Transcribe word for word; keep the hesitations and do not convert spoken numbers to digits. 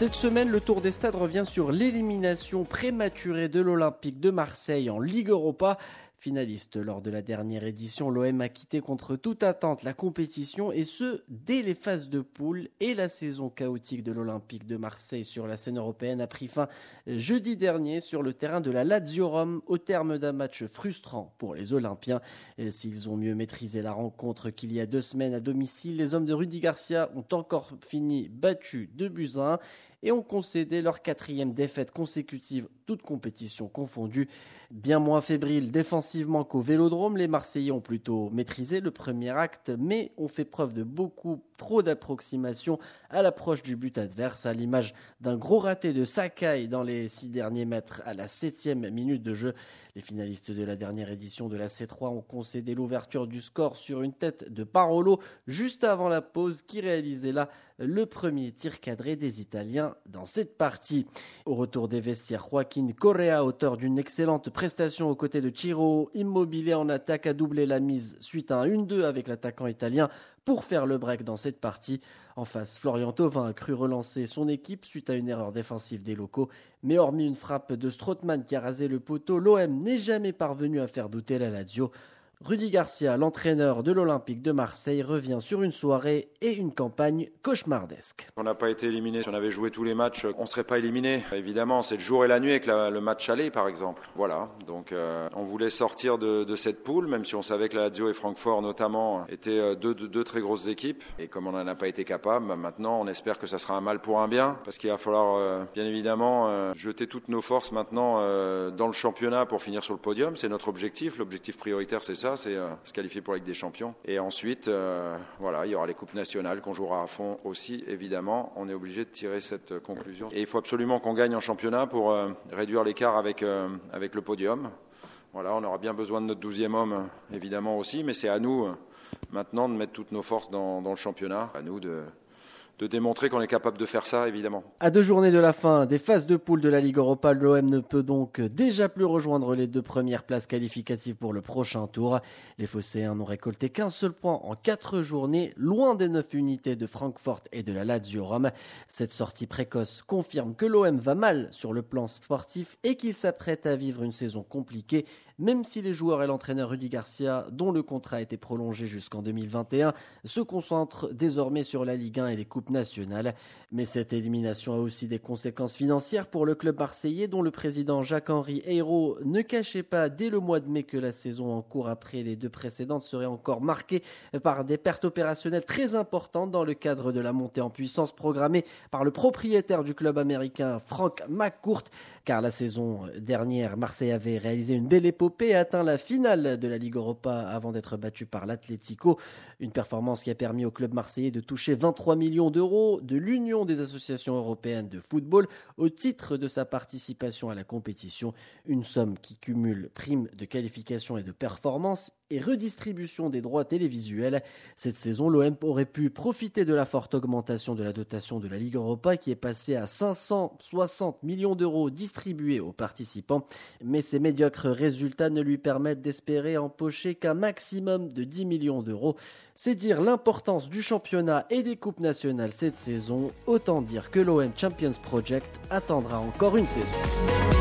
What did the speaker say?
Cette semaine, le Tour des Stades revient sur l'élimination prématurée de l'Olympique de Marseille en Ligue Europa. Finaliste lors de la dernière édition, l'O M a quitté contre toute attente la compétition et ce, dès les phases de poule. Et la saison chaotique de l'Olympique de Marseille sur la scène européenne a pris fin jeudi dernier sur le terrain de la Lazio Rome au terme d'un match frustrant pour les Olympiens. Et s'ils ont mieux maîtrisé la rencontre qu'il y a deux semaines à domicile, les hommes de Rudy Garcia ont encore fini battus deux buts à un et ont concédé leur quatrième défaite consécutive, toutes compétitions confondues. Bien moins fébriles défensivement qu'au Vélodrome, les Marseillais ont plutôt maîtrisé le premier acte, mais ont fait preuve de beaucoup trop d'approximation à l'approche du but adverse, à l'image d'un gros raté de Sakai dans les six derniers mètres à la septième minute de jeu. Les finalistes de la dernière édition de la C trois ont concédé l'ouverture du score sur une tête de Parolo juste avant la pause, qui réalisait là le premier tir cadré des Italiens dans cette partie. Au retour des vestiaires, Joaquin Correa, auteur d'une excellente prestation aux côtés de Ciro Immobile en attaque, a doublé la mise suite à un un deux avec l'attaquant italien pour faire le break dans cette partie. En face, Florian Thauvin a cru relancer son équipe suite à une erreur défensive des locaux, mais hormis une frappe de Strootman qui a rasé le poteau, l'O M n'est jamais parvenu à faire douter la Lazio. Rudy Garcia, l'entraîneur de l'Olympique de Marseille, revient sur une soirée et une campagne cauchemardesque. On n'a pas été éliminé. Si on avait joué tous les matchs, on ne serait pas éliminé. Évidemment, c'est le jour et la nuit avec la, le match aller, par exemple. Voilà. Donc, euh, on voulait sortir de, de cette poule, même si on savait que la Lazio et Francfort, notamment, étaient deux, deux, deux très grosses équipes. Et comme on n'en a pas été capable, bah maintenant, on espère que ça sera un mal pour un bien, parce qu'il va falloir, euh, bien évidemment, euh, jeter toutes nos forces maintenant euh, dans le championnat pour finir sur le podium. C'est notre objectif. L'objectif prioritaire, c'est ça. C'est euh, se qualifier pour la Ligue des Champions. Et ensuite, euh, voilà, il y aura les coupes nationales qu'on jouera à fond aussi, évidemment. On est obligé de tirer cette euh, conclusion. Et il faut absolument qu'on gagne en championnat pour euh, réduire l'écart avec, euh, avec le podium. Voilà, on aura bien besoin de notre douzième homme, évidemment aussi, mais c'est à nous euh, maintenant de mettre toutes nos forces dans, dans le championnat. À nous de... de démontrer qu'on est capable de faire ça, évidemment. À deux journées de la fin des phases de poule de la Ligue Europa, l'O M ne peut donc déjà plus rejoindre les deux premières places qualificatives pour le prochain tour. Les Phocéens n'ont récolté qu'un seul point en quatre journées, loin des neuf unités de Francfort et de la Lazio Rome. Cette sortie précoce confirme que l'O M va mal sur le plan sportif et qu'il s'apprête à vivre une saison compliquée, même si les joueurs et l'entraîneur Rudy Garcia, dont le contrat a été prolongé jusqu'en deux mille vingt et un, se concentrent désormais sur la Ligue un et les coupes nationales. Mais cette élimination a aussi des conséquences financières pour le club marseillais, dont le président Jacques-Henri Ayrault ne cachait pas dès le mois de mai que la saison en cours après les deux précédentes serait encore marquée par des pertes opérationnelles très importantes dans le cadre de la montée en puissance programmée par le propriétaire du club américain Frank McCourt. Car la saison dernière, Marseille avait réalisé une belle épopée et atteint la finale de la Ligue Europa avant d'être battu par l'Atlético. Une performance qui a permis au club marseillais de toucher vingt-trois millions d'euros de l'Union des associations européennes de football au titre de sa participation à la compétition. Une somme qui cumule primes de qualification et de performance et redistribution des droits télévisuels. Cette saison, l'O M aurait pu profiter de la forte augmentation de la dotation de la Ligue Europa qui est passée à cinq cent soixante millions d'euros distribués aux participants. Mais ces médiocres résultats ne lui permettent d'espérer empocher qu'un maximum de dix millions d'euros. C'est dire l'importance du championnat et des coupes nationales cette saison. Autant dire que l'O M Champions Project attendra encore une saison.